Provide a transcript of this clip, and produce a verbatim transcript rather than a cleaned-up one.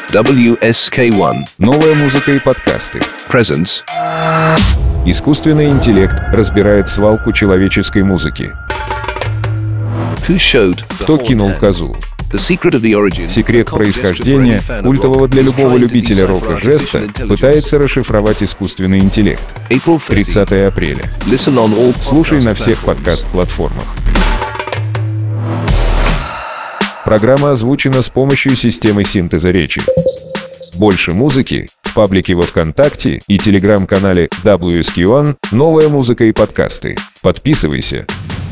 дабл ю эс кей один. Новая музыка и подкасты. Presents. Искусственный интеллект разбирает свалку человеческой музыки. Who showed Кто кинул козу? Секрет Секрет происхождения культового для любого любителя рока жеста пытается расшифровать искусственный интеллект. тридцатого апреля. Слушай на всех подкаст-платформах. Программа озвучена с помощью системы синтеза речи. Больше музыки в паблике во ВКонтакте и телеграм-канале дабл ю эс кей один «Новая музыка и подкасты». Подписывайся.